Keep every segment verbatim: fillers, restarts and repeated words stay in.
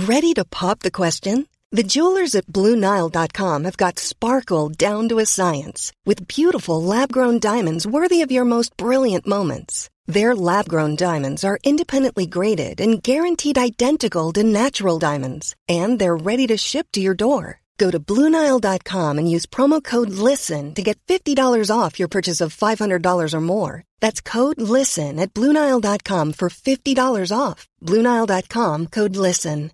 Ready to pop the question? The jewelers at Blue Nile dot com have got sparkle down to a science with beautiful lab-grown diamonds worthy of your most brilliant moments. Their lab-grown diamonds are independently graded and guaranteed identical to natural diamonds, and they're ready to ship to your door. Go to Blue Nile dot com and use promo code LISTEN to get fifty dollars off your purchase of five hundred dollars or more. That's code LISTEN at Blue Nile dot com for fifty dollars off. Blue Nile dot com, code LISTEN.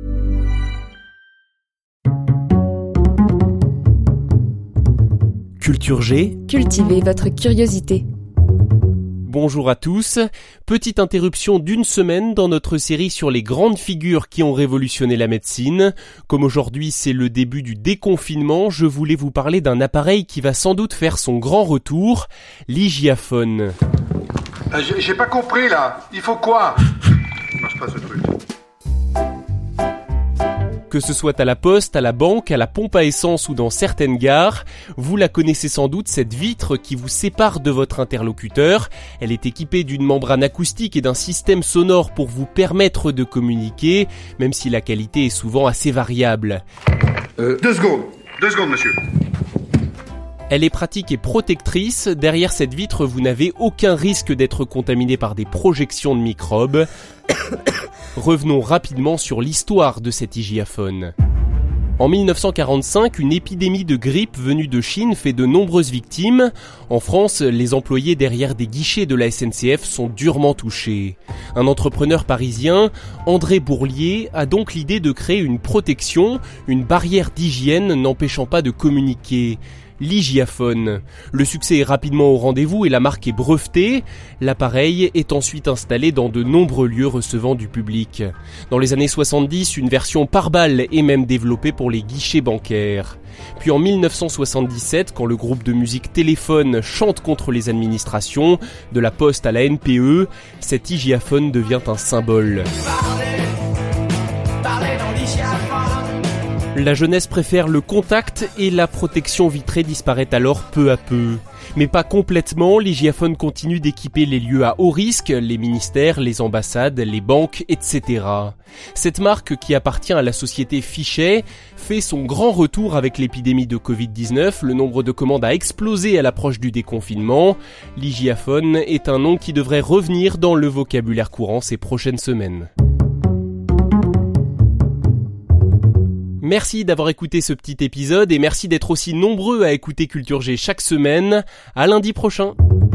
Culture G. Cultivez votre curiosité. Bonjour à tous. Petite interruption d'une semaine dans notre série sur les grandes figures qui ont révolutionné la médecine. Comme aujourd'hui c'est le début du déconfinement, je voulais vous parler d'un appareil qui va sans doute faire son grand retour, l'hygiaphone. Euh, j'ai, j'ai pas compris là, il faut quoi ? Ça marche pas ce truc. Que ce soit à la poste, à la banque, à la pompe à essence ou dans certaines gares, vous la connaissez sans doute, cette vitre qui vous sépare de votre interlocuteur. Elle est équipée d'une membrane acoustique et d'un système sonore pour vous permettre de communiquer, même si la qualité est souvent assez variable. Euh, deux secondes, deux secondes monsieur. Elle est pratique et protectrice. Derrière cette vitre, vous n'avez aucun risque d'être contaminé par des projections de microbes. Revenons rapidement sur l'histoire de cet hygiaphone. En dix-neuf cent quarante-cinq, une épidémie de grippe venue de Chine fait de nombreuses victimes. En France, les employés derrière des guichets de la S N C F sont durement touchés. Un entrepreneur parisien, André Bourlier, a donc l'idée de créer une protection, une barrière d'hygiène n'empêchant pas de communiquer. L'hygiaphone. Le succès est rapidement au rendez-vous et la marque est brevetée. L'appareil est ensuite installé dans de nombreux lieux recevant du public. Dans les années soixante-dix, une version par balle est même développée pour les guichets bancaires. Puis en dix-neuf cent soixante-dix-sept, quand le groupe de musique Téléphone chante contre les administrations, de la Poste à la N P E, cet hygiaphone devient un symbole. La jeunesse préfère le contact et la protection vitrée disparaît alors peu à peu. Mais pas complètement, l'hygiaphone continue d'équiper les lieux à haut risque, les ministères, les ambassades, les banques, et cetera. Cette marque, qui appartient à la société Fichet, fait son grand retour avec l'épidémie de covid dix-neuf. Le nombre de commandes a explosé à l'approche du déconfinement. L'hygiaphone est un nom qui devrait revenir dans le vocabulaire courant ces prochaines semaines. Merci d'avoir écouté ce petit épisode et merci d'être aussi nombreux à écouter Culture G chaque semaine. À lundi prochain.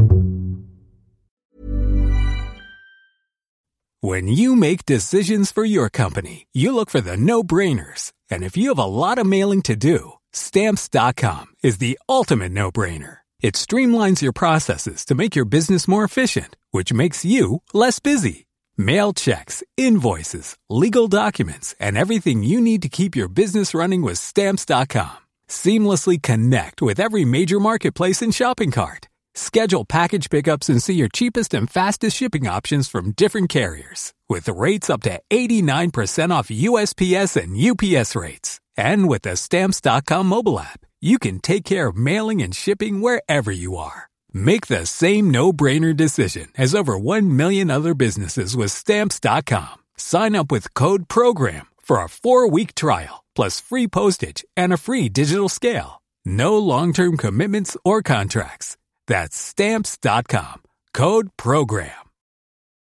When you make decisions for your company, you look for the no-brainers. And if you have a lot of mailing to do, Stamps dot com is the ultimate no-brainer. It streamlines your processes to make your business more efficient, which makes you less busy. Mail checks, invoices, legal documents, and everything you need to keep your business running with Stamps dot com. Seamlessly connect with every major marketplace and shopping cart. Schedule package pickups and see your cheapest and fastest shipping options from different carriers, with rates up to eighty-nine percent off U S P S and U P S rates. And with the Stamps dot com mobile app, you can take care of mailing and shipping wherever you are. Make the same no-brainer decision as over one million other businesses with Stamps dot com. Sign up with code PROGRAM for a four-week trial, plus free postage and a free digital scale. No long-term commitments or contracts. That's Stamps dot com. Code PROGRAM.